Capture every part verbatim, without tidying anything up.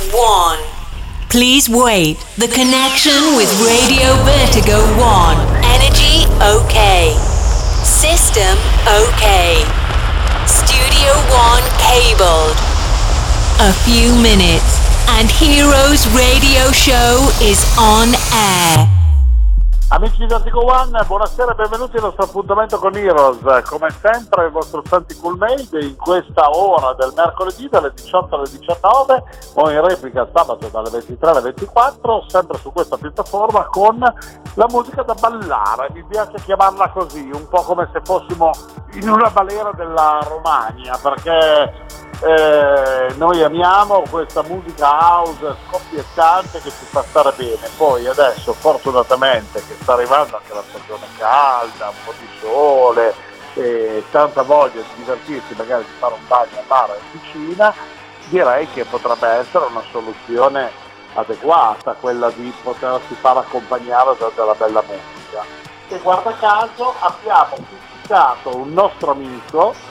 one. Please wait. The connection with Radio Vertigo one. Energy okay. System okay. Studio one cabled. A few minutes and Heroes Radio Show is on air. Amici di Vertigo One, buonasera e benvenuti al nostro appuntamento con Heroes. Come sempre il vostro Santi Coolmade in questa ora del mercoledì dalle diciotto alle diciannove o in replica sabato dalle ventitré alle ventiquattro, sempre su questa piattaforma con la musica da ballare. Mi piace chiamarla così, un po' come se fossimo in una balera della Romagna, perché Eh, noi amiamo questa musica house scoppiettante che ci fa stare bene. Poi adesso fortunatamente che sta arrivando anche la stagione calda, un po' di sole e tanta voglia di divertirsi, magari di fare un bagno a mare in piscina, direi che potrebbe essere una soluzione adeguata quella di potersi far accompagnare da della bella musica. E guarda caso abbiamo pubblicato un nostro amico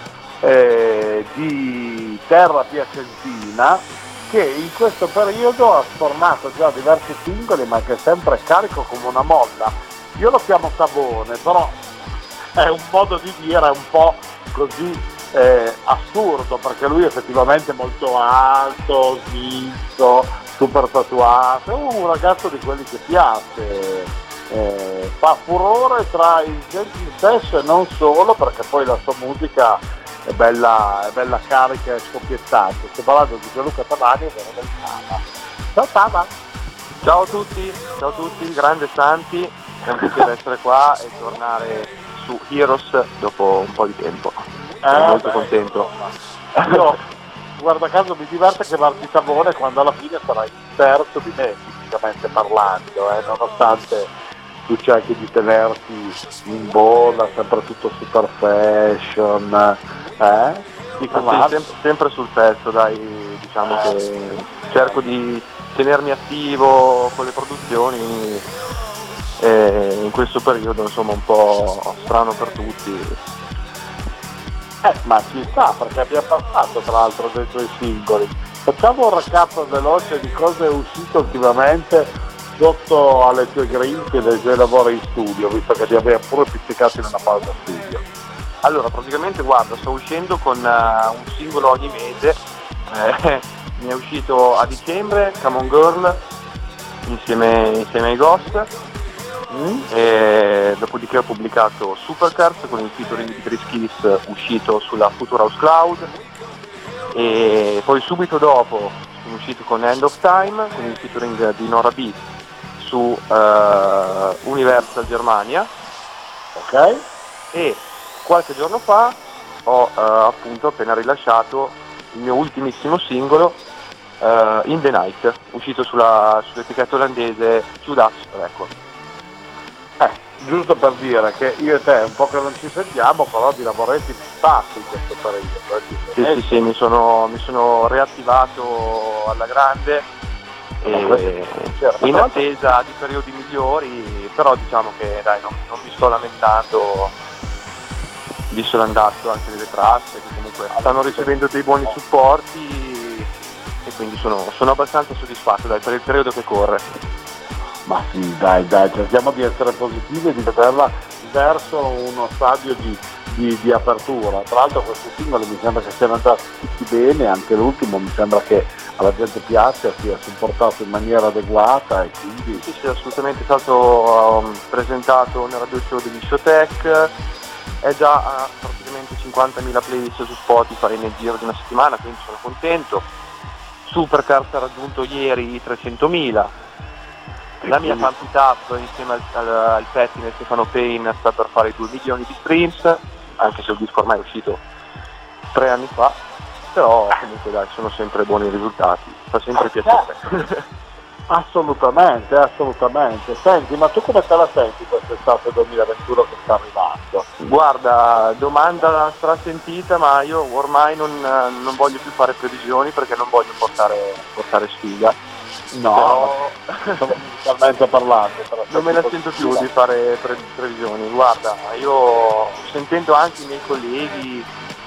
Eh, di terra piacentina che in questo periodo ha sfornato già diversi singoli, ma che è sempre carico come una molla. Io lo chiamo Savone, però è un modo di dire un po' così eh, assurdo, perché lui effettivamente è molto alto, sminzo, super tatuato, è un ragazzo di quelli che piace, eh, fa furore tra i genti stesso e non solo, perché poi la sua musica è bella, è bella carica e scoppiettante. Sto parlando di Gianluca Tavani e Vero del Tava. Ciao Tava! Ciao a tutti, ciao a tutti, grande Santi, è un piacere essere qua e tornare su Heroes dopo un po' di tempo. Sono eh, molto beh, contento. Io, guarda caso, mi diverte chiamarti Savone quando alla fine sarai terzo di me, fisicamente parlando, eh, nonostante tu cerchi di tenerti in bolla, sempre tutto super fashion, eh? Dico, Ma sì, sempre, sempre sul pezzo, dai, diciamo eh. che cerco di tenermi attivo con le produzioni e in questo periodo insomma un po' strano per tutti. Eh, ma ci sta, perché abbiamo passato tra l'altro dei tuoi singoli. Facciamo un recap veloce di cosa è uscito ultimamente sotto alle tue grinfie dei tuoi lavori in studio, visto che li abbiamo pure pizzicati in una pausa studio. Allora, praticamente guarda, sto uscendo con uh, un singolo ogni mese, eh, mi è uscito a dicembre Come On Girl insieme, insieme ai Ghost, mm. e dopodiché ho pubblicato Supercars con il featuring di Chris Kiss uscito sulla Future House Cloud, e poi subito dopo sono uscito con End of Time con il featuring di Nora B su uh, Universal Germania, ok? E qualche giorno fa ho uh, appunto appena rilasciato il mio ultimissimo singolo uh, In The Night, uscito sulla, sull'etichetta olandese Judas Records. Eh, giusto per dire che io e te un po' che non ci sentiamo, però di lavoretti fatti in questo periodo. Sì, sì, sì, mi sono, mi sono reattivato alla grande e in attesa di periodi migliori, però diciamo che dai, non, non mi sto lamentando, visto l'andazzo anche delle tracce che comunque stanno ricevendo dei buoni supporti e quindi sono, sono abbastanza soddisfatto dai, per il periodo che corre. Ma sì, dai, dai, cerchiamo di essere positivi e di vederla verso uno stadio di, di, di apertura. Tra l'altro questi singoli mi sembra che siano andati tutti bene, anche l'ultimo mi sembra che alla gente piace, sia supportato in maniera adeguata e quindi... Sì, sì, assolutamente, è stato um, presentato nel radio show degli Showtech, è già a praticamente cinquantamila playlist su Spotify nel giro di una settimana, quindi sono contento. Supercars ha raggiunto ieri i trecentomila, la mia Pump It Up insieme al, al, al pettine Stefano Payne sta per fare due milioni di streams, anche se il disco ormai è uscito tre anni fa, però comunque dai, sono sempre buoni risultati, fa sempre piacere. Assolutamente, assolutamente. Senti, ma tu come te la senti quest'estate duemilaventuno che sta arrivando? Guarda, domanda strasentita, ma io ormai non, non voglio più fare previsioni perché non voglio portare, portare sfiga. No, però, musicalmente parlando. Non me la sento più di fare pre- previsioni. Guarda, io sentendo anche i miei colleghi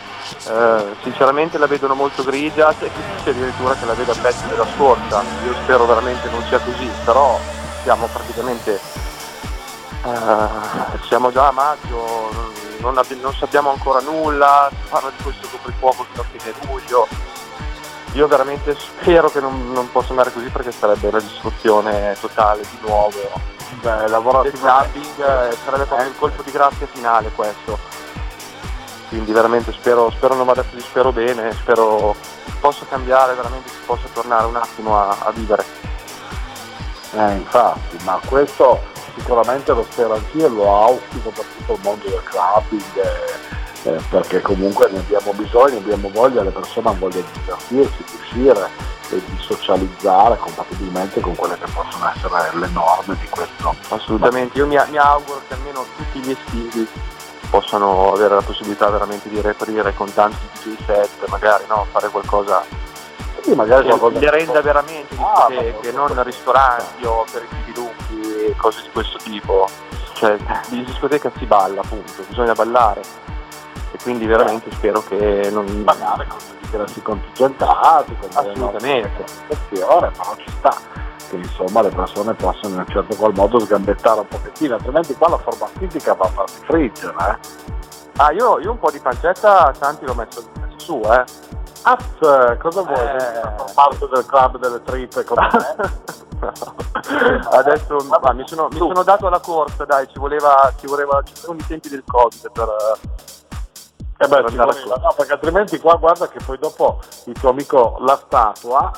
Eh, sinceramente la vedono molto grigia, c'è chi dice addirittura che la vede a pezzi della scorsa. Io spero veramente non sia così, però siamo praticamente eh, siamo già a maggio, non, abbi- non sappiamo ancora nulla, si parla di questo coprifuoco fino a fine luglio. Io veramente spero che non, non possa andare così, perché sarebbe la distruzione totale di nuovo. Beh, lavoro del clubbing, eh, sarebbe proprio il colpo di grazia finale questo. Quindi veramente spero, spero non vada così, spero bene, spero possa cambiare, veramente si possa tornare un attimo a, a vivere. Eh, infatti, ma questo sicuramente lo spero anch'io, lo auspico per tutto il mondo del clubbing, eh, eh, perché comunque ne abbiamo bisogno, abbiamo voglia, le persone hanno voglia di divertirsi, di uscire e di socializzare compatibilmente con quelle che possono essere le norme di questo. Assolutamente, io mi, mi auguro che almeno tutti gli estivi possano avere la possibilità veramente di riaprire con tanti D J set, magari no, fare qualcosa sì, magari che qualcosa le renda veramente ah, discoteche, non ristoranti o aperitivi lunghi, cose di questo tipo. Cioè in discoteca si balla, appunto, bisogna ballare, e quindi veramente eh. spero che non magari con ingressi contingentati, con assolutamente, però ci sta che insomma le persone possano in un certo qual modo sgambettare un pochettino, altrimenti qua la forma fisica va a farsi friggere, eh? Ah, io, io un po' di pancetta tanti l'ho messo, messo su, eh. Azz, cosa vuoi? Eh... Far parte del club delle trippe come me? Adesso ma, mi, sono, mi sono dato alla corsa, dai, ci voleva, ci voleva, ci sono i tempi del Covid per... Eh beh, ci voleva, no, perché altrimenti qua guarda che poi dopo il tuo amico la statua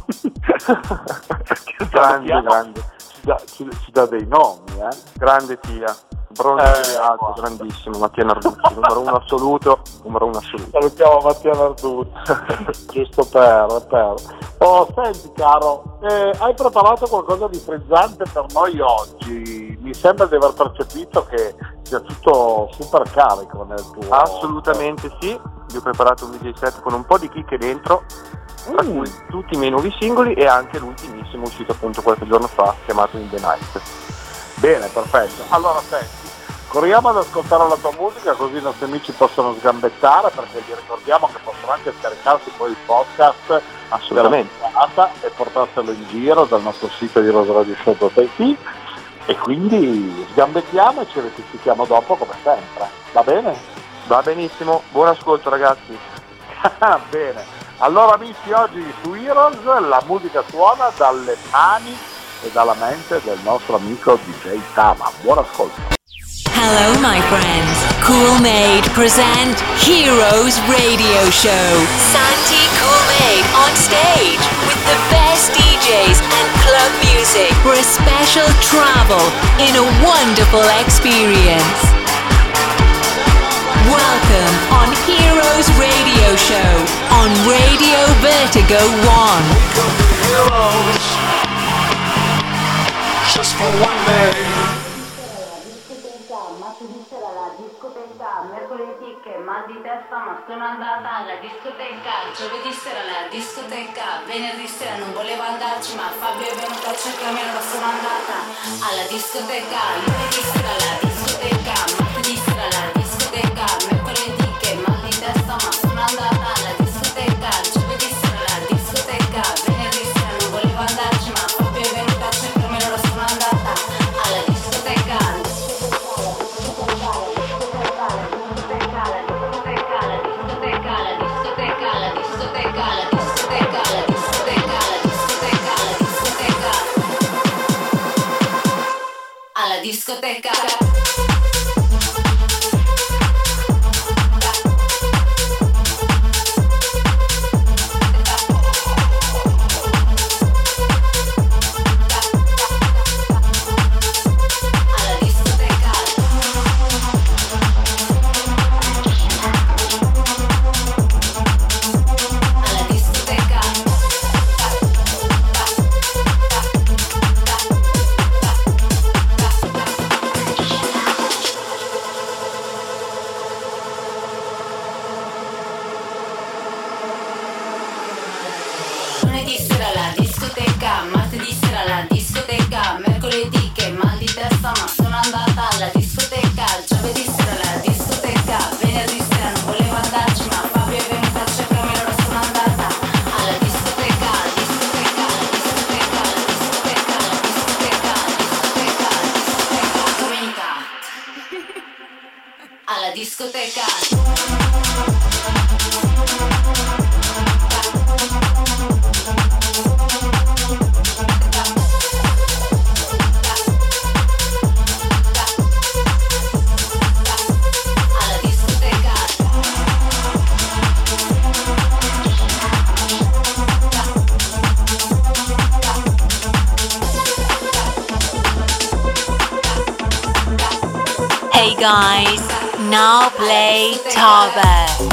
grande, grande. Ci, dà, ci, ci dà dei nomi, eh? Grande Tia, bronzo eh, alto, wow. grandissimo, Mattia Narducci, numero uno assoluto, numero uno assoluto. Salutiamo Mattia Narducci, giusto per, per. Oh, senti caro, eh, hai preparato qualcosa di frizzante per noi oggi? Mi sembra di aver percepito che sia tutto super carico nel tuo... Assolutamente sì, vi ho preparato un D J set con un po' di chicche dentro, tra mm. cui tutti i miei nuovi singoli e anche l'ultimissimo uscito appunto qualche giorno fa, chiamato In The Night. Bene, perfetto. Allora senti, corriamo ad ascoltare la tua musica così i nostri amici possono sgambettare, perché vi ricordiamo che possono anche scaricarsi poi il podcast assolutamente e portarselo in giro dal nostro sito di rosradioshow punto it, e quindi sgambettiamo e ci rettifichiamo dopo come sempre, va bene? Va benissimo, buon ascolto ragazzi. Bene, allora amici, oggi su Heroes la musica suona dalle mani e dalla mente del nostro amico D J Tama. Buon ascolto. Hello my friends, Cool-Made present Heroes Radio Show. Santi Cool-Made on stage with the best D Js and club music for a special travel in a wonderful experience. Welcome on Heroes Radio Show on Radio Vertigo One. Heroes, just for one day. Mercoledì che mal di testa ma sono andata alla discoteca, giovedì sera alla discoteca, venerdì sera non volevo andarci ma Fabio è venuto a cercarmi e allora sono andata alla discoteca, lunedì sera alla discoteca, martedì sera alla discoteca, mercoledì che mal di testa ma sono andata alla discoteca, giovedì sera alla discoteca, venerdì sera non volevo andarci ma Fabio è venuto a cercarmi e allora sono andata alla discoteca. Alla discoteca. Lunedì sera alla discoteca, martedì sera alla discoteca, mercoledì che mal di testa ma sono andata alla discoteca, giovedì sera alla discoteca, venerdì sera non volevo andarci ma Fabio guys, now play Tava.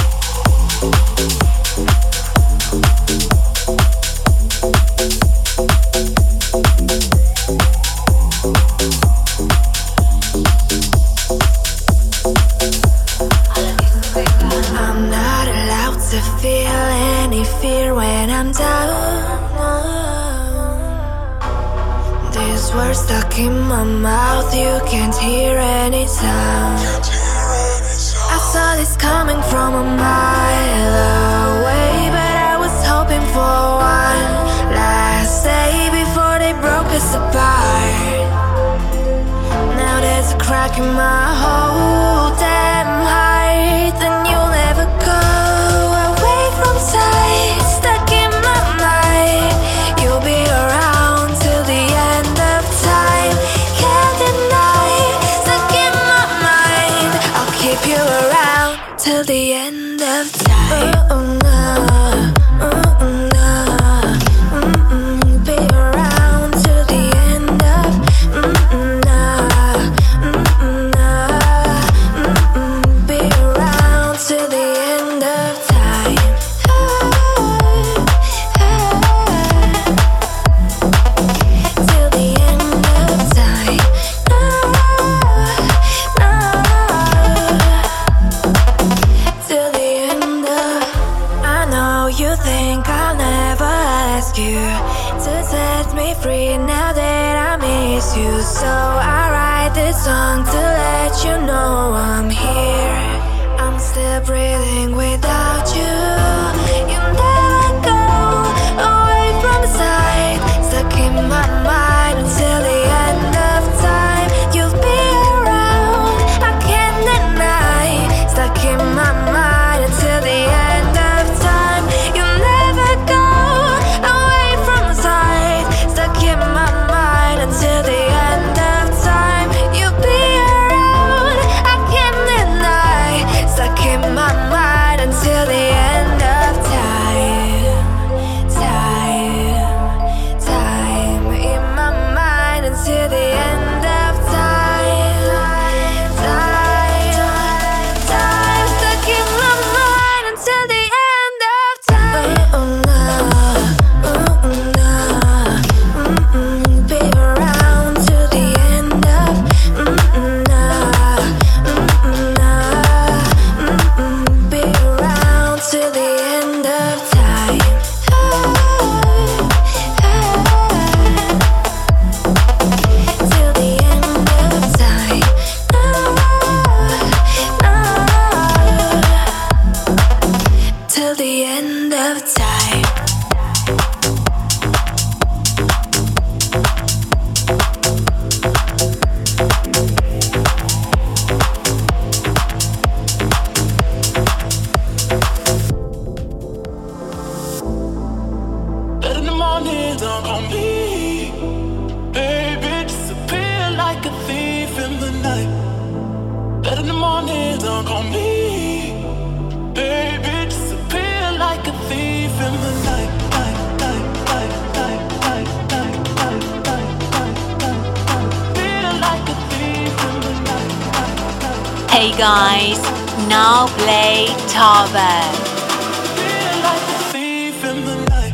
Words stuck in my mouth, you can't hear any sound. I saw this coming from a mile away, but I was hoping for one last day before they broke us apart. Now there's a crack in my whole damn heart, and you'll never go away from sight. Stuck in my mind, you'll be around till the end of time. Can't deny, stuck in my mind, I'll keep you around till the end of time. Oh, no, oh, no, mm-mm, be around till the end of, mm-mm, no, mm-mm, no, mm-mm, be around till the end of time. Till the end of time. Till the end of. I know you think I'll never ask you to set me free now that I miss you. So I write this song to let you know I'm here. I'm still breathing without you. You never go away from the side. Stuck in my mind until the end of time. You'll be around, I can't deny. Stuck in my mind until the end of time. You'll never go away from the side. Stuck in my mind until the end of time. You'll be around, I can't deny. Stuck in my mind until the end of time. Time, time in my mind until the end of time. Time, time, stuck in my mind until the end of time. Oh, no, oh, no, mm-mm, be around till the end of, mm-mm, no, mm-mm, no, mm-mm, be around till the end of time. Till the end of time. Till the end of time. But in the morning, don't call me. Baby, disappear like a thief in the night. But in the morning, don't call me. Baby, disappear like a thief in the night. Night, night, night, night, night, night, night, night, night, night, night. Feel like a thief in the night. Night, night. Hey guys, now play Tava. Feel like a thief in the night.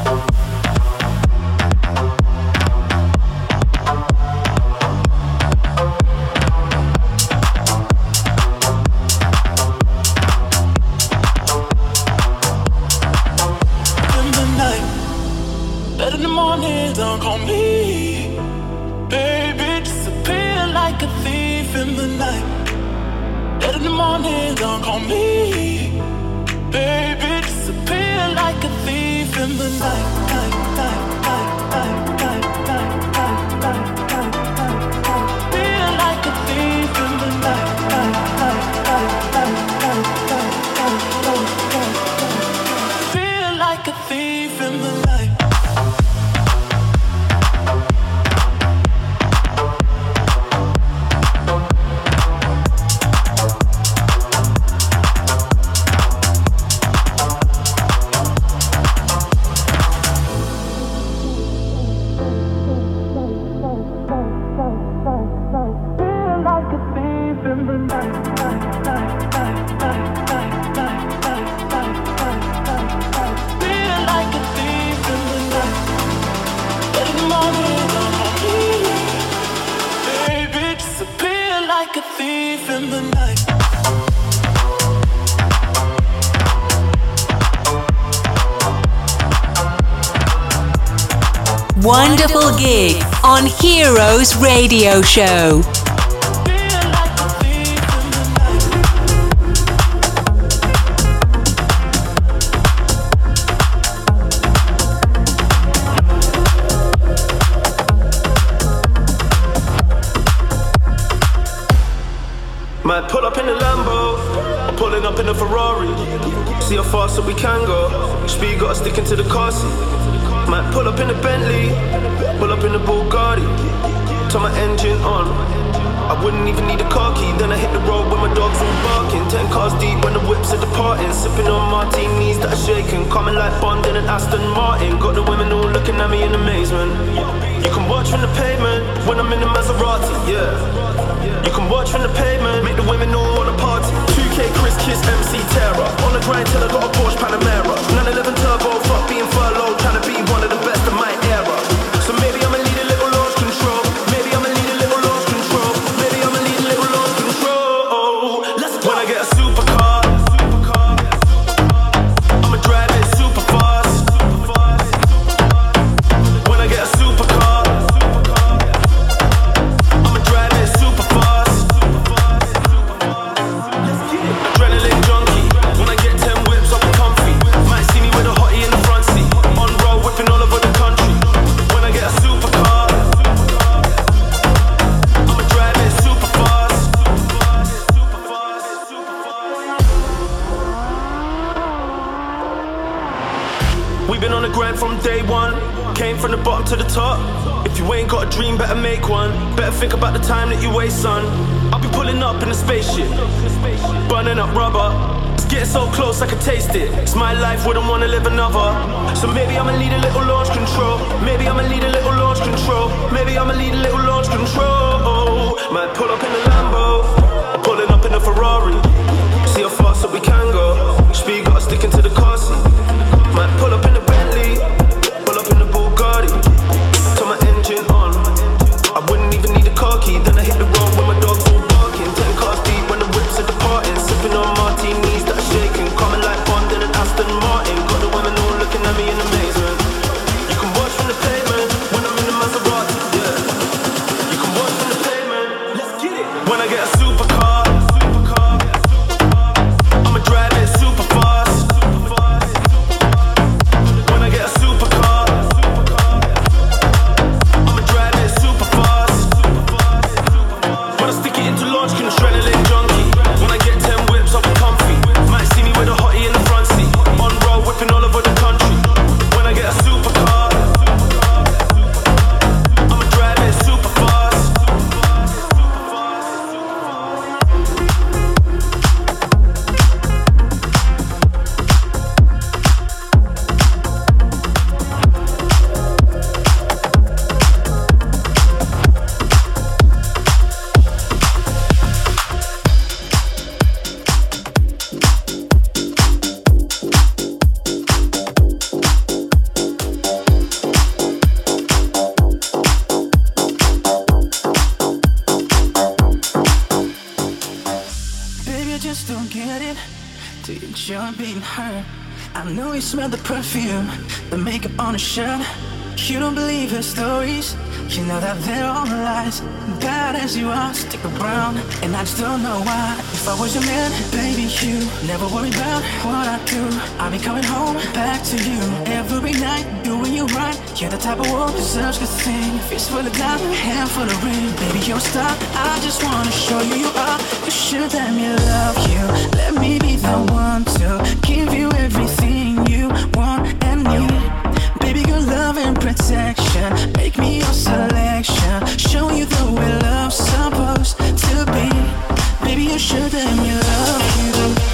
In the night. But in the morning, don't call me. Baby, disappear like a thief in the night. But in the morning, don't call me. Baby, disappear like a thief in the night. Night, night, night, night, night, night, night, night, night, night, night. Feel like a thief in the night. Night, night, night, night, night, night, night, night, night, night. Feel like a thief in the night. Feel like a thief in the night. thief in the night. Wonderful gig on Heroes Radio Show. Might pull up in the Lambo, I'm pulling up in the Ferrari. See how fast that we can go. Speed got us sticking to the car seat. Might pull up in the Bentley, pull up in the Bugatti. Turn my engine on, I wouldn't even need a car key. Then I hit the road when my dogs all barking. Ten cars deep when the whips are departing. Sipping on martinis that are shaking. Coming like Bond in an Aston Martin. Got the women all looking at me in amazement. You can watch from the pavement when I'm in the Maserati, yeah. You can watch from the pavement, make the women all wanna party. two K Chris Kiss M C Terror. On the grind till I got a Porsche Panamera. nine eleven Turbo, fuck being furloughed. Trying to be one of the best of my era. So maybe I'ma lead a little lost control. Maybe I'ma lead a little lost control. Maybe I'ma lead a little lost control. Let's go. When I get a supercar, I'ma drive it super fast. When I get a supercar, I'ma drive it super fast. Adrenaline junkie. When I get ten whips, I'll be comfy. Might see me with a hottie in the front seat. On road, whipping all over the country. When I get a supercar, I'ma drive it super fast. We've been on the grind from day one. Came from the bottom to the top. If you ain't got a dream, better make one. Better think about the time that you waste, son. I'll be pulling up in a spaceship, burning up rubber. It's getting so close I can taste it. It's my life, wouldn't wanna live another. So maybe I'ma lead a little launch control. Maybe I'ma lead a little launch control. Maybe I'ma lead a little launch control. Might pull up in the Lambo, pulling up in the Ferrari. See how fast that we can go. Speed got us sticking to the car seat. Might pull up in the Bentley, pull up in the Bugatti. Turn my engine on, I wouldn't even need a car key. Then I hit the road when my dogs all barking. Ten cars deep when the whips are departing. Sipping on martinis that are shaking. Coming like Bond in an Aston Martin. Got the women all looking at me in amazement. You can watch from the pavement when I'm in the Maserati, yeah. You can watch from the pavement, let's get it. When I get a supercar, I'ma drive it super fast. When I get a supercar, I'ma drive it super fast. When I stick it into launch control, adrenaline junkie. When I get ten whips, I'll be comfy. Might see me with a hottie in the front seat. On road, whipping all over the country. When I get a supercar, I'ma drive it super fast. Baby, I just don't get it. Do you enjoy being hurt? I know you smell the perfume, the makeup on her shirt. You don't believe her stories. You know that they're all lies. Bad as you are, stick around. And I just don't know why. If I was your man, baby, you never worry about what I do. I'll be coming home back to you every night, doing you right. You're the type of woman who deserves good thing. Fist full of diamond, hand full of ring. Baby, you're a star. I just wanna show you you are. You should let me love you. Let me be the one to give you everything you want and need. Baby, your love and protection, make me your selection. Show you the way love's supposed to be. Baby, you should let me love you.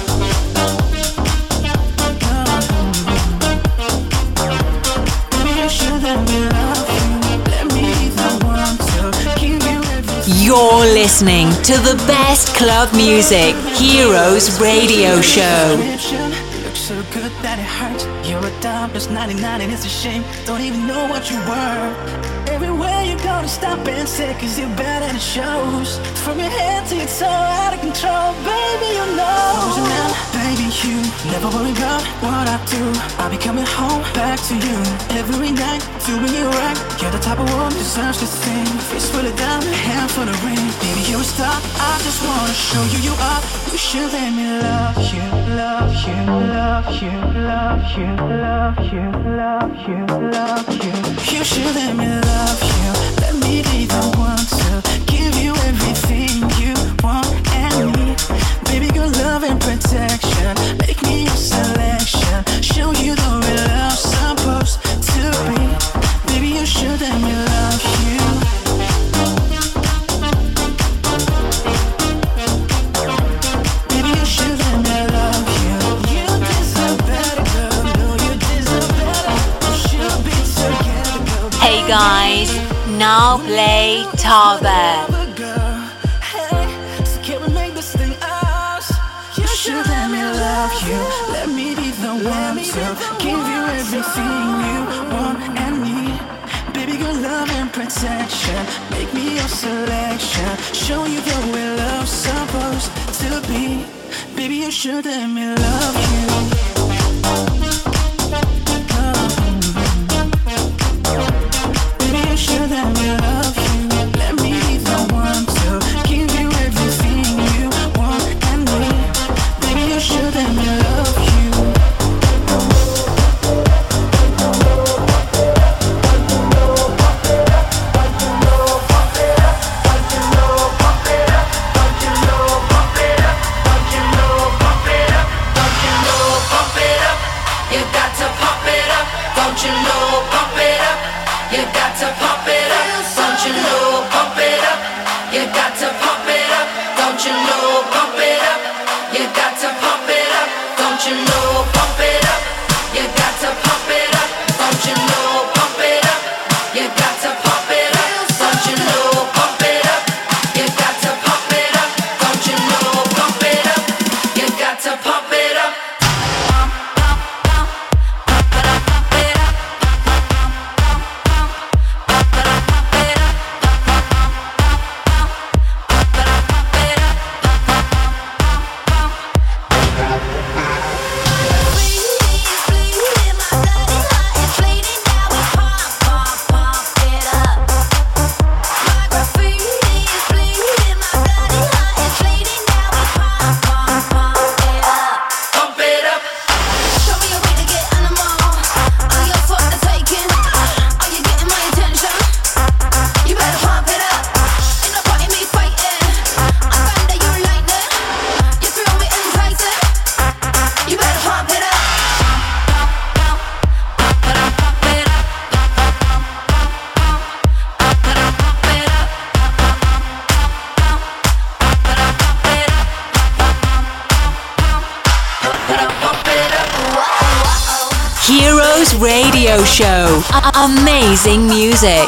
Baby, you should let me love you. Let me be the one to give you everything. You're listening to the best club music, Heroes Radio Show. Look so good that it hurts. You're a dime plus ninety-nine and it's a shame. Don't even know what you were. Everywhere you you gonna stop and say, cause you're bad and it shows. From your head to your toe, out of control, baby, you know. Losing out, baby, you never worry about what I do. I'll be coming home back to you every night, doing you right. You're the type of woman who deserves this thing. Fist full of diamond, hand full of ring. Baby, you're a star, I just wanna show you you are. You should let me love you, love you, love you, love you, love you, love you, love you. You should let me love you. Let me be the one to give you everything you want and need. Baby, good love and protection. Make me your selection. Show you the way love's supposed to be. Baby, you should let me love you. Baby, you should let me love you. You deserve better, girl. No, you deserve better. We should be together, girl. Hey guys, now play Tava. Should let me love you. Let me be the one to give you everything you want and need. Baby, good love and protection. Make me your selection. Show you the way love's supposed to be. Baby, you should let me love you. Baby, you should let me love you. Let me be the one to give you everything you want and need. You should let me love you. Heroes Radio Show. A- amazing music.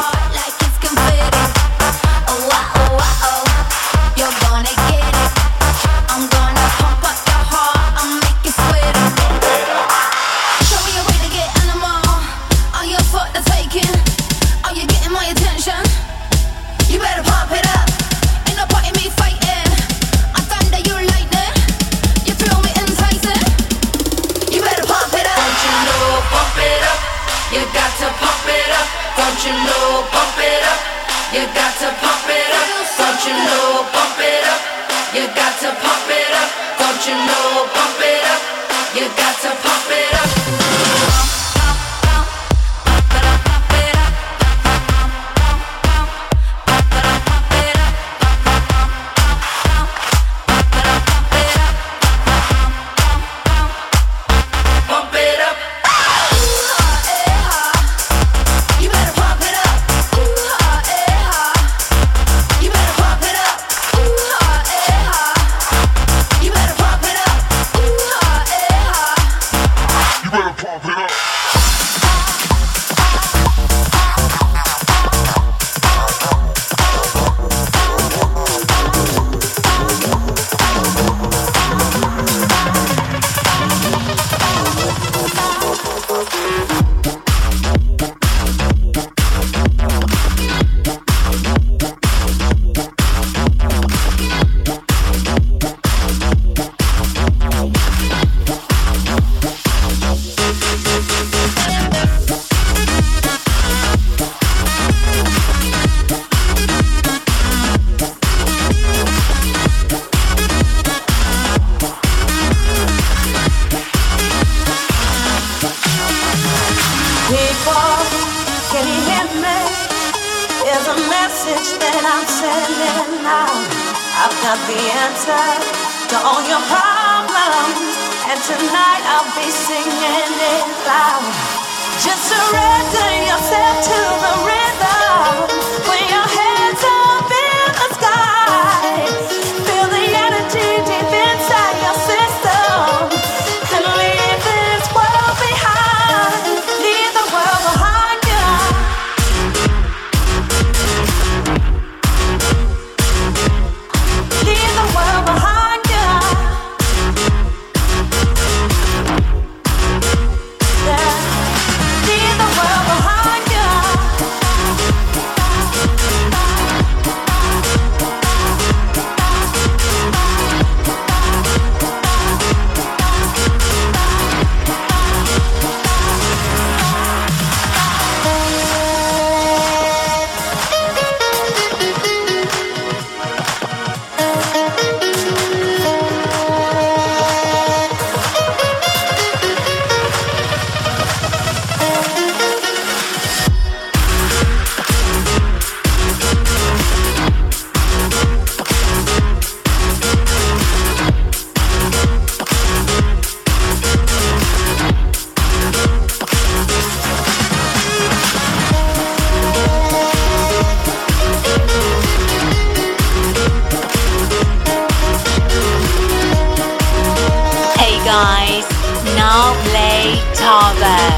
People, can you hear me? There's a message that I'm sending out. I've got the answer to all your problems, and tonight I'll be singing it loud. Just surrender yourself to the rhythm. Put your hands up in the sky. Feel the energy deep inside your system. And leave this world behind. Leave the world behind you. Leave the world behind you. Yeah. Leave the world behind you. Hey guys, now play Tava.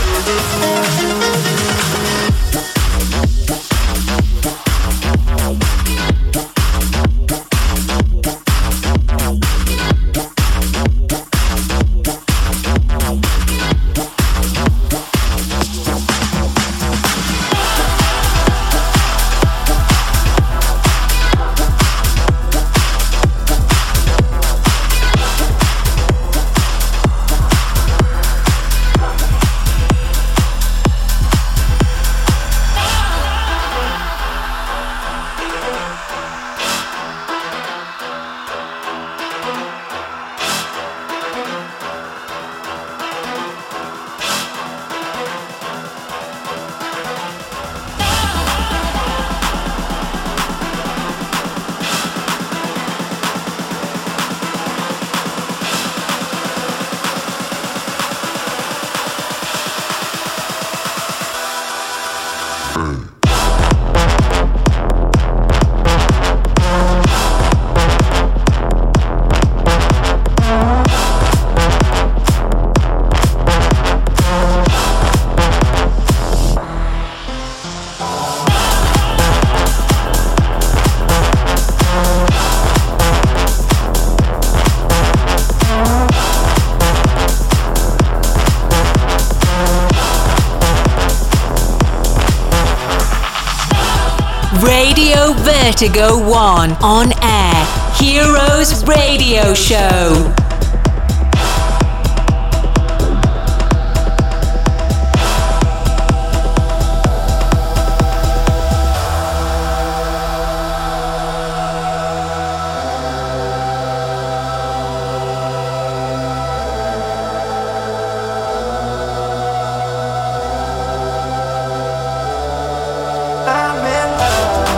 Radio Vertigo One on air. Heroes Radio Show.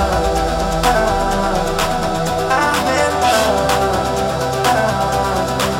I'm in love. I'm in love.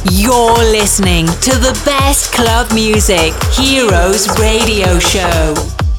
You're listening to the best club music, Heroes Radio Show.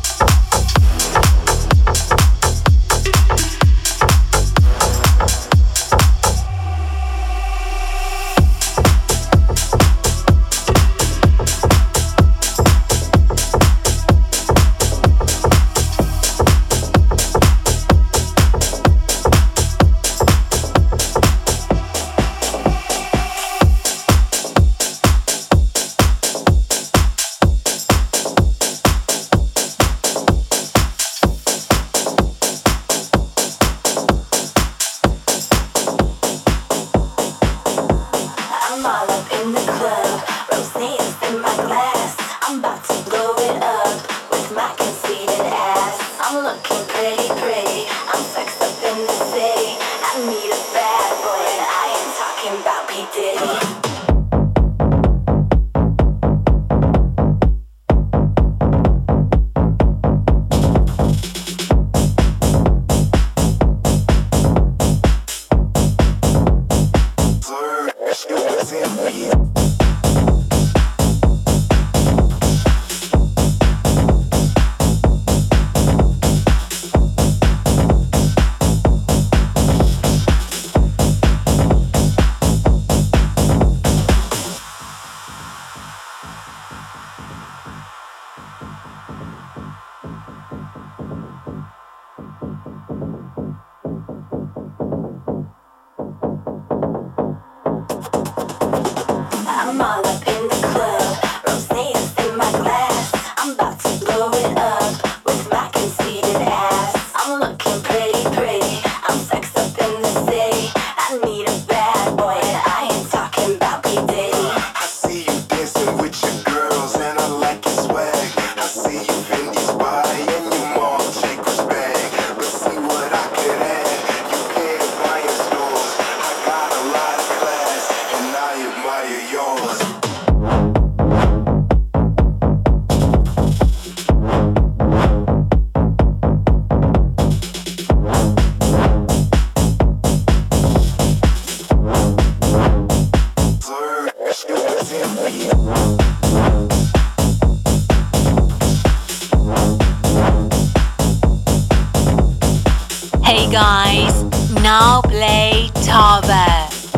Hey guys, now play Tava.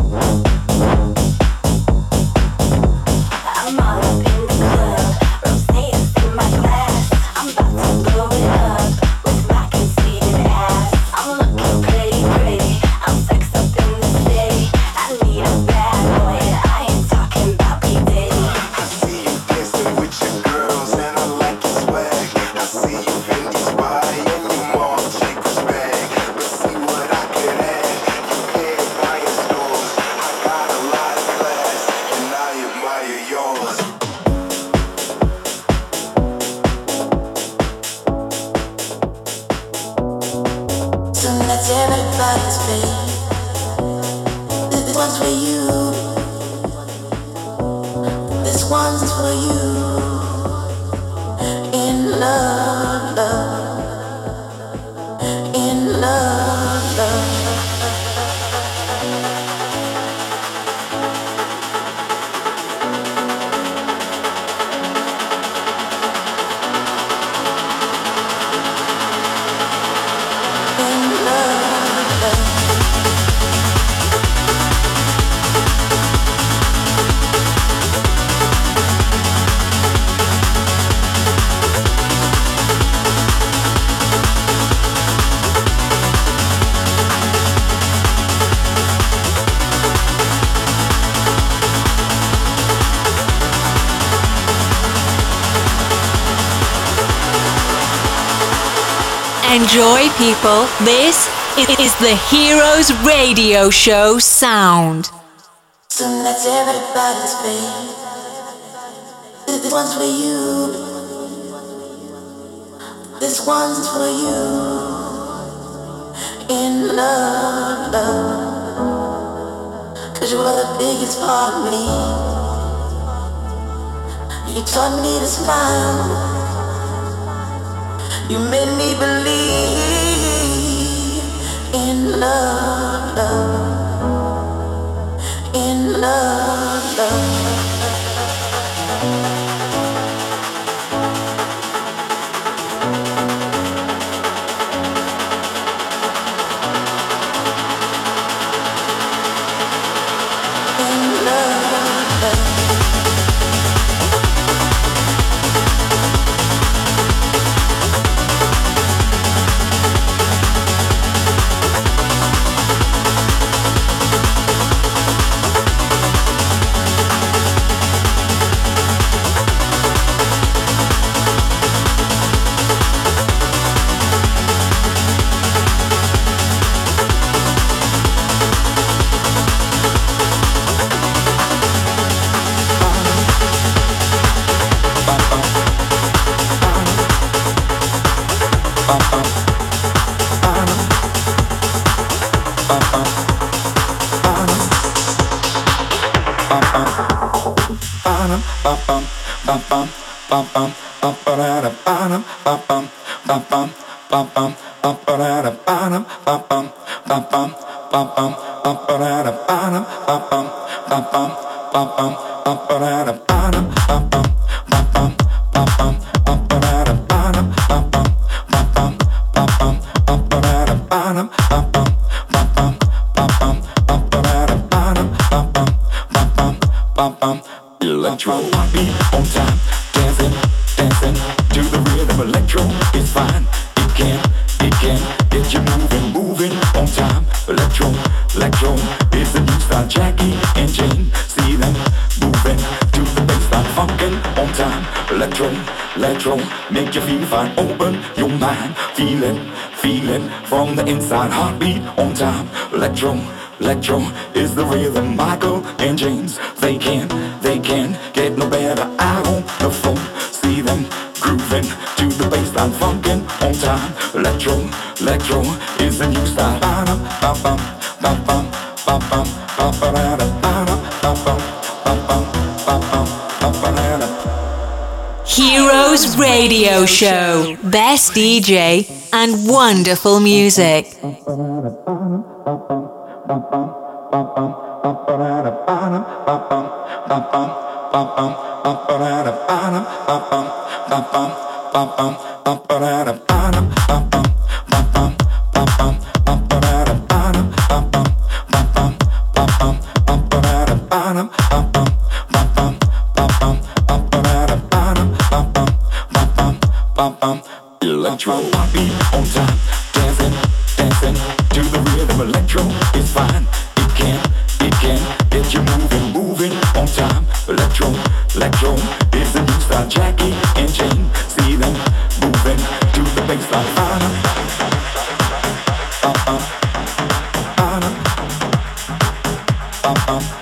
Enjoy, people. This is the Heroes Radio Show sound. So let's everybody's face. This one's for you. This one's for you. In love, love. Cause you are the biggest part of me. You taught me to smile. You made me believe in love, love, in love, love. Electro beat on time, dancing, dancing to the rhythm. Electro is fine, it can, it can get you moving, moving on time. Electro, electro is the new style. Jackie and Jane, see them moving to the baseline, funkin' on time. Electro, electro, make you feel fine. Open your mind, feel it, feel it from the inside. Heartbeat on time. Electro, electro is the rhythm. Michael and James, they can, they can get no better out on the floor. See them grooving to the baseline, funkin' on time. Electro, electro is the new style. Ba-dum, ba-bum, ba-bum, ba-bum, ba-ba-da-da, ba-dum, ba-bum, ba-bum, ba-bum, ba-ba-da-da. Heroes Radio Show. Best D J and wonderful music. Electro beat on time, dancing, dancing to the rhythm. Electro is fine, it can, it can get you moving, moving on time. Electro, electro is the new style. Jackie and Jane, see them moving to the baseline. Uh-huh. Uh-huh. Uh-huh. Uh-huh. Uh-huh.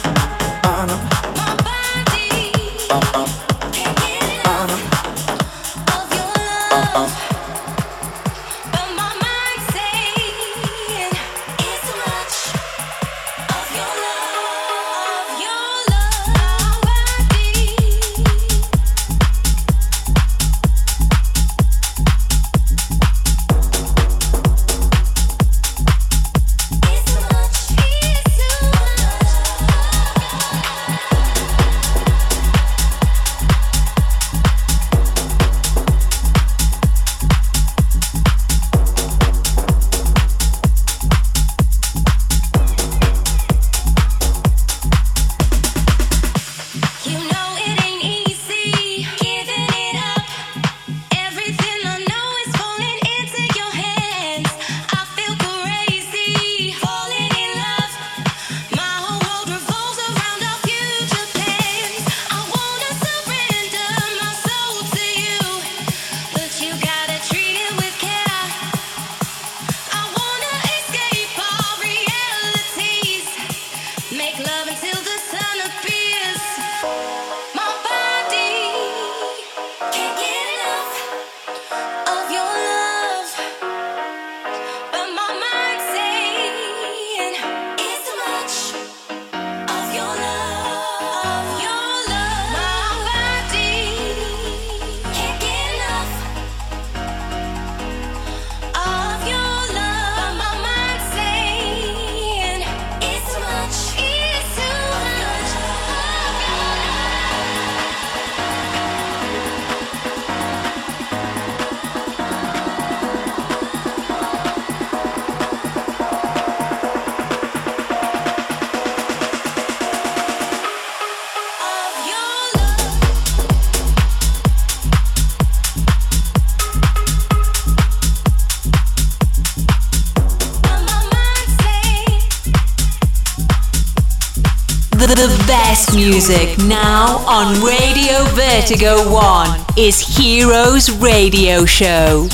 The best music now on Radio Vertigo One is Heroes Radio Show.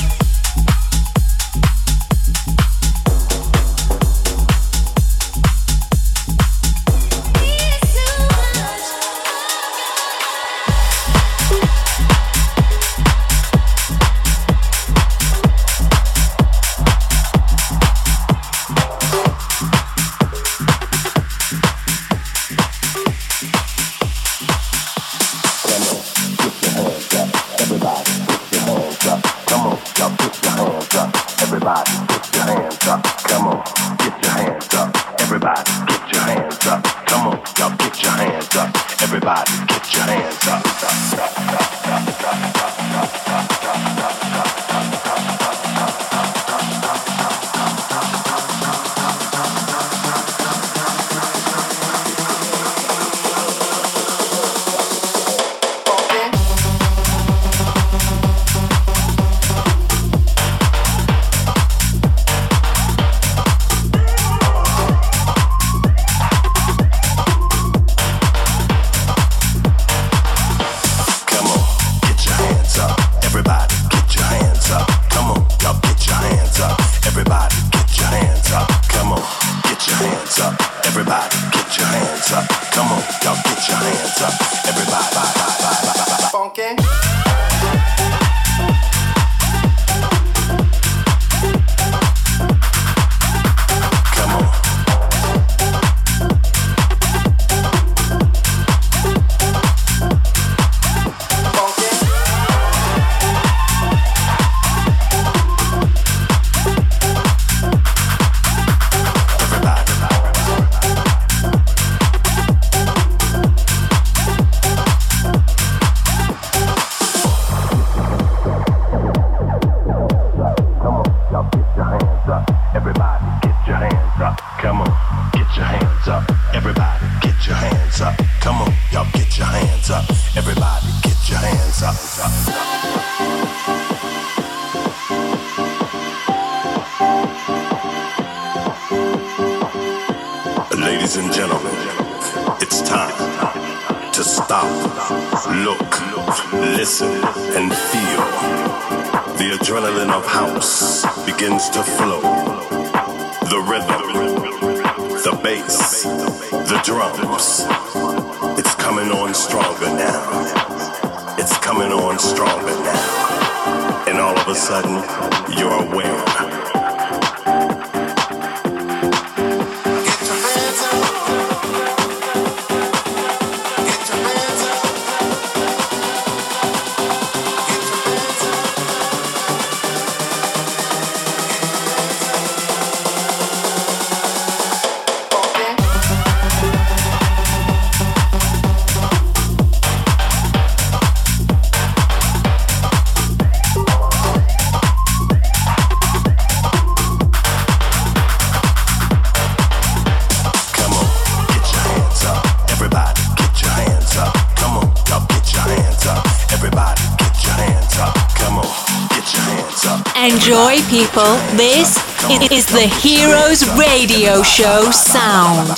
Everybody, get your hands up. Ladies and gentlemen, it's time to stop, look, listen, and feel. The adrenaline of house begins to flow. The rhythm, the bass, the drums. It's coming on stronger now. It's coming on stronger now. And all of a sudden, you're aware. Enjoy, people. This is the Heroes Radio Show sound.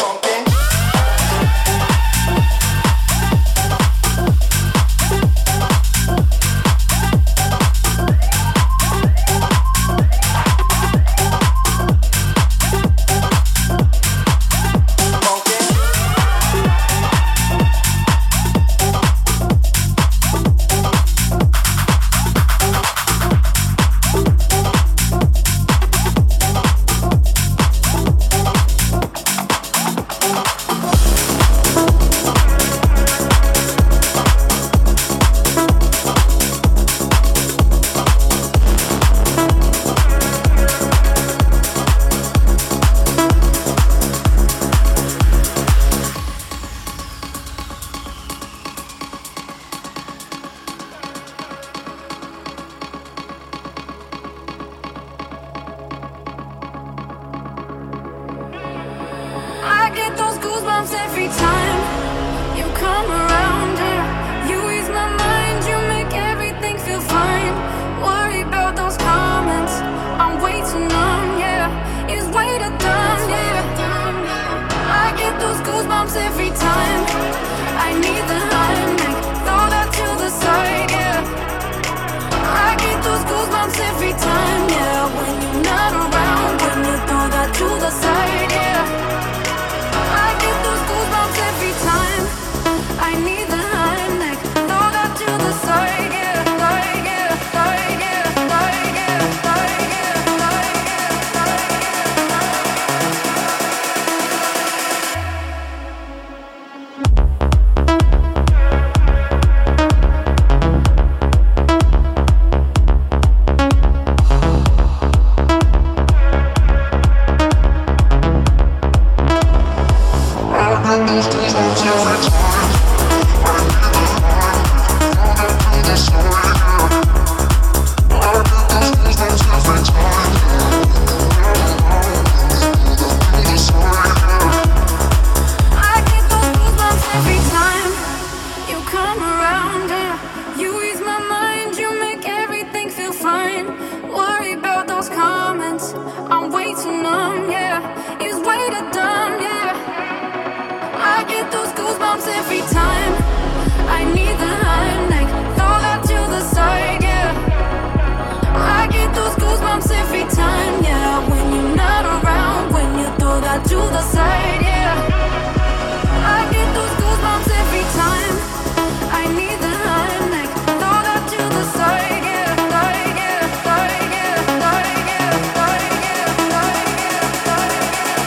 goosebumps every time. I need the Heimlich, throw that to the side, yeah. I get those goosebumps every time, yeah. When you're not around, when you throw that to the side, yeah. I get those goosebumps every time. I need the Heimlich, throw that to the side, yeah. Side, yeah, side, yeah, side, yeah, side, yeah, side, yeah, side,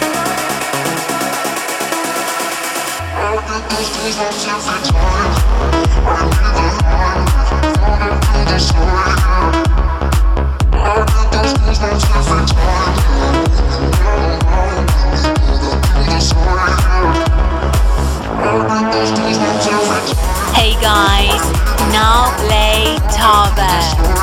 yeah. I get those goosebumps every time. I need the Heimlich, throw that to the side, yeah. I get those goosebumps every time. Hey guys, now play Tarver.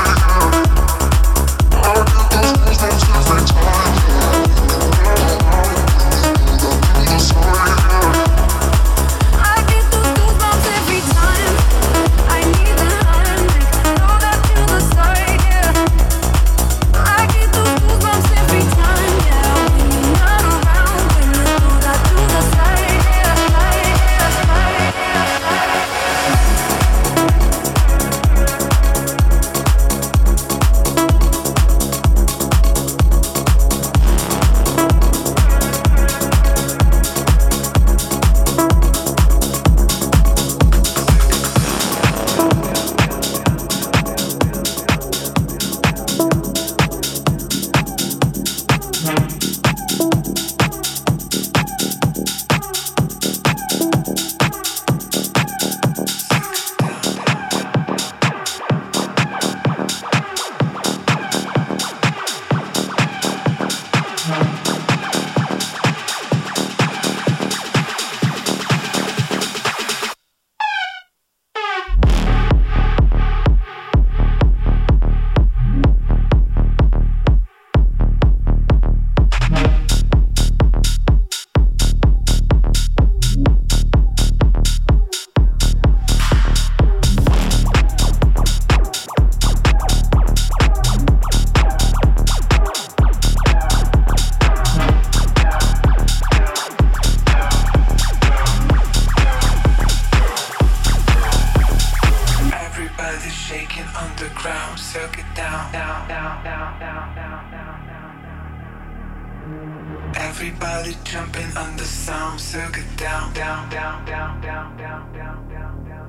Everybody jumping on the sound, circuit down, down, down, down, down, down, down, down, down.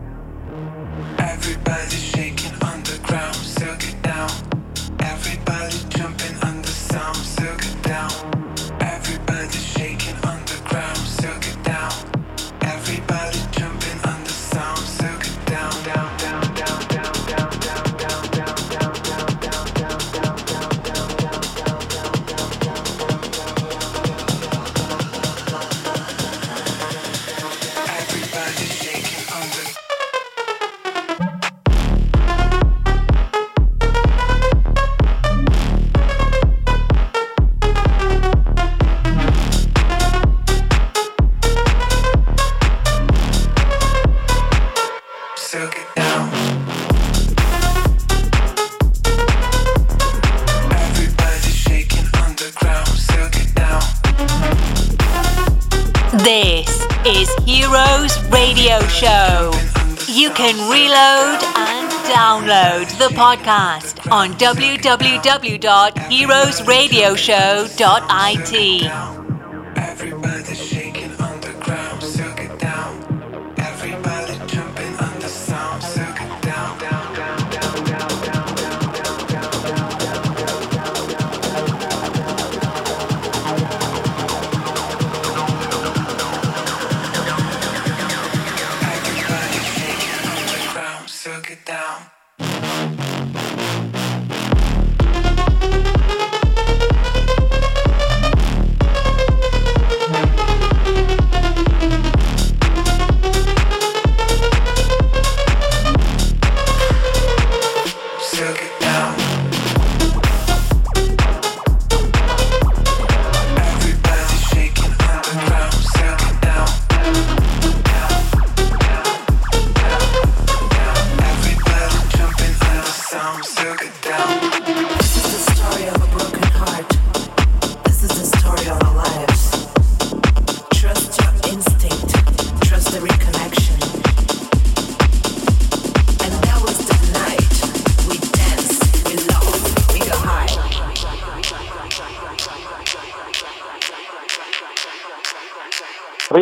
Everybody shaking on the ground, circuit down. Everybody jumping on the sound, circuit down. Everybody shaking on the ground, circuit down. Everybody jumping on the sound, circuit down, down, down, down, down, down, down, down, down, down, down, down, down, down, down, down, down. Everybody shaking on the circuit down. Everybody shaking on the ground, circuit down. This is Heroes Radio Show. You can reload and download the podcast on w w w dot heroes radio show dot i t. Everybody shaking on the ground, circuit down. Everybody jumping on the sound, circuit down, down, down, down, down, down, down, down, down, down, down, down, Everybody shaking on the ground, circuit down.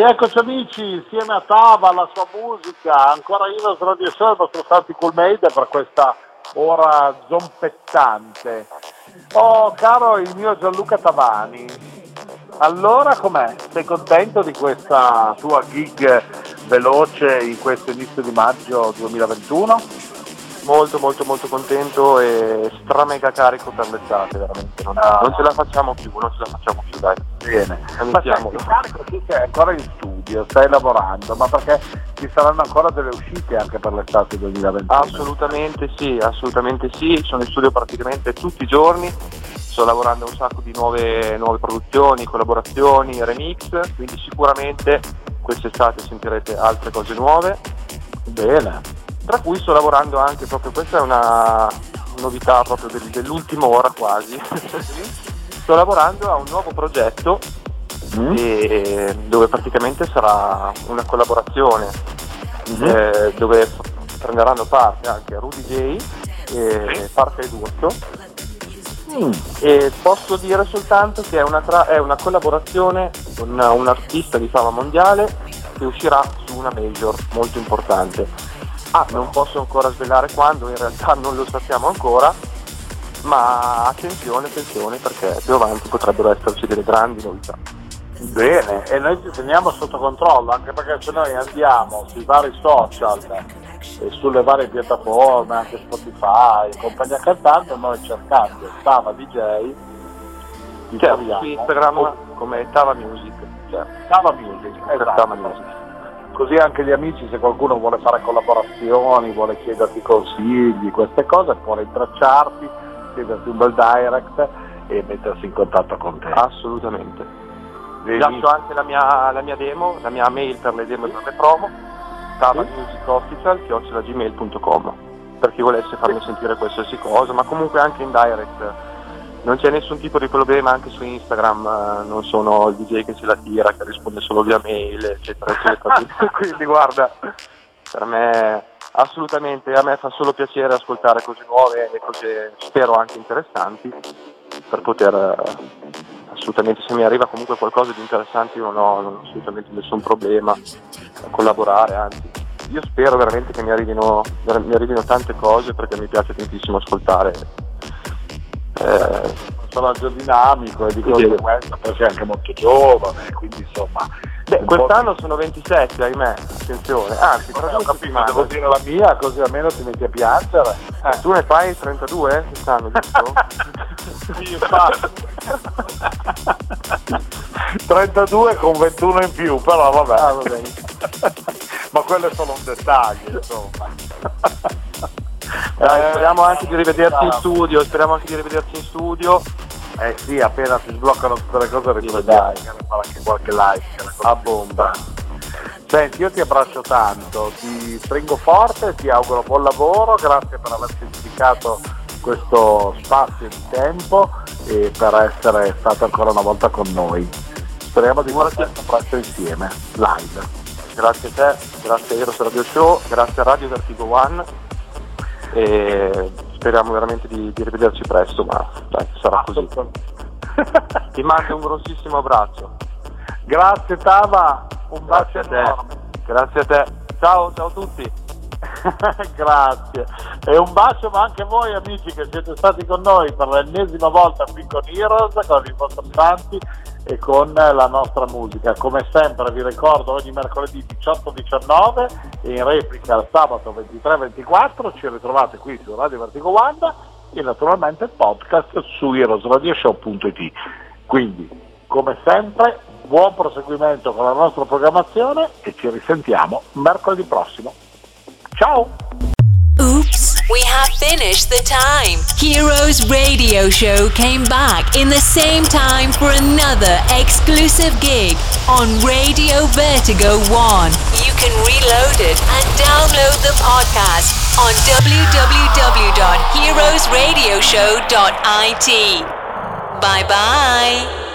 Rieccoci amici, insieme a Tava, la sua musica, ancora Heroes Radio Show, il vostro Santi Cool Made per questa ora zompettante. Oh caro il mio Gianluca Tavani, allora com'è? Sei contento di questa tua gig veloce in questo inizio di maggio duemilaventuno? Molto molto molto contento e stramega carico per l'estate, veramente, non, ah. non ce la facciamo più, non ce la facciamo più, dai. Bene, ma senti, carico, tu sei ancora in studio, stai lavorando, ma perché ci saranno ancora delle uscite anche per l'estate duemilaventuno? Assolutamente sì, assolutamente sì, sono in studio praticamente tutti i giorni, sto lavorando a un sacco di nuove, nuove produzioni, collaborazioni, remix, quindi sicuramente quest'estate sentirete altre cose nuove. Bene. Tra cui sto lavorando anche proprio, questa è una novità proprio del, dell'ultima ora quasi, sto lavorando a un nuovo progetto mm. e, dove praticamente sarà una collaborazione mm. eh, dove prenderanno parte anche Rudy J e Parca ed Urso mm. e posso dire soltanto che è una, tra- è una collaborazione con un artista di fama mondiale che uscirà su una major molto importante. Ah, non posso ancora svelare quando, in realtà non lo sappiamo ancora, ma attenzione, attenzione, perché più avanti potrebbero esserci delle grandi novità. Bene, e noi ci teniamo sotto controllo, anche perché se noi andiamo sui vari social e sulle varie piattaforme, anche Spotify, compagnia cantante, noi cercando Tava D J, di certo, su Instagram oh. come Tava Music. Cioè, Tava Music, esatto. Tava Music. Così anche gli amici, se qualcuno vuole fare collaborazioni, vuole chiederti consigli, queste cose, può rintracciarti, chiederti un bel direct e mettersi in contatto con te. Assolutamente. Vi lascio anche la mia, la mia demo, la mia mail per le demo e per le promo, tavamusicofficial chiocciola gmail punto com, per chi volesse farmi sentire qualsiasi cosa, ma comunque anche in direct. Non c'è nessun tipo di problema, anche su Instagram eh, non sono il D J che se la tira, che risponde solo via mail, eccetera, eccetera. Quindi guarda, per me assolutamente, a me fa solo piacere ascoltare cose nuove e cose spero anche interessanti, per poter eh, assolutamente, se mi arriva comunque qualcosa di interessante io non ho, non ho assolutamente nessun problema a collaborare, anzi io spero veramente che mi arrivino, mi arrivino tante cose, perché mi piace tantissimo ascoltare. Eh, personaggio dinamico e di conseguenza poi sei anche molto giovane, quindi insomma. Beh, quest'anno di... sono ventisette, ahimè, attenzione, anzi tra due settimane devo dire la mia, così almeno ti metti a piangere. Eh, tu ne fai trentadue quest'anno, giusto? Sì, infatti. trentadue con ventuno in più, però vabbè. Ah, vabbè. Ma quello è solo un dettaglio, insomma. Dai, speriamo anche di rivederci in studio, speriamo anche di rivederci in studio. Eh sì, appena si sbloccano tutte le cose ricordiamo di fare anche qualche like a bomba. Senti, io ti abbraccio tanto, ti stringo forte, ti auguro buon lavoro, grazie per averci dedicato questo spazio di tempo e per essere stato ancora una volta con noi. Speriamo di farci presto insieme, live. Grazie a te, grazie a Heroes Radio Show, grazie a Radio Vertigo One. E speriamo veramente di, di rivederci presto, ma dai, sarà così. Ti mando un grossissimo abbraccio. Grazie Tava, un bacio a te. Grazie a te. Ciao, ciao a tutti. Grazie. E un bacio ma anche a voi amici che siete stati con noi per l'ennesima volta qui con Heroes, con i vostri santi e con la nostra musica. Come sempre vi ricordo ogni mercoledì diciotto diciannove e in replica il sabato ventitré ventiquattro ci ritrovate qui su Radio Vertigo One e naturalmente il podcast su heroes radio show punto it. Quindi come sempre buon proseguimento con la nostra programmazione e ci risentiamo mercoledì prossimo. Ciao! Oops, we have finished the time. Heroes Radio Show came back in the same time for another exclusive gig on Radio Vertigo One. You can reload it and download the podcast on w w w dot heroes radio show dot i t. Bye bye.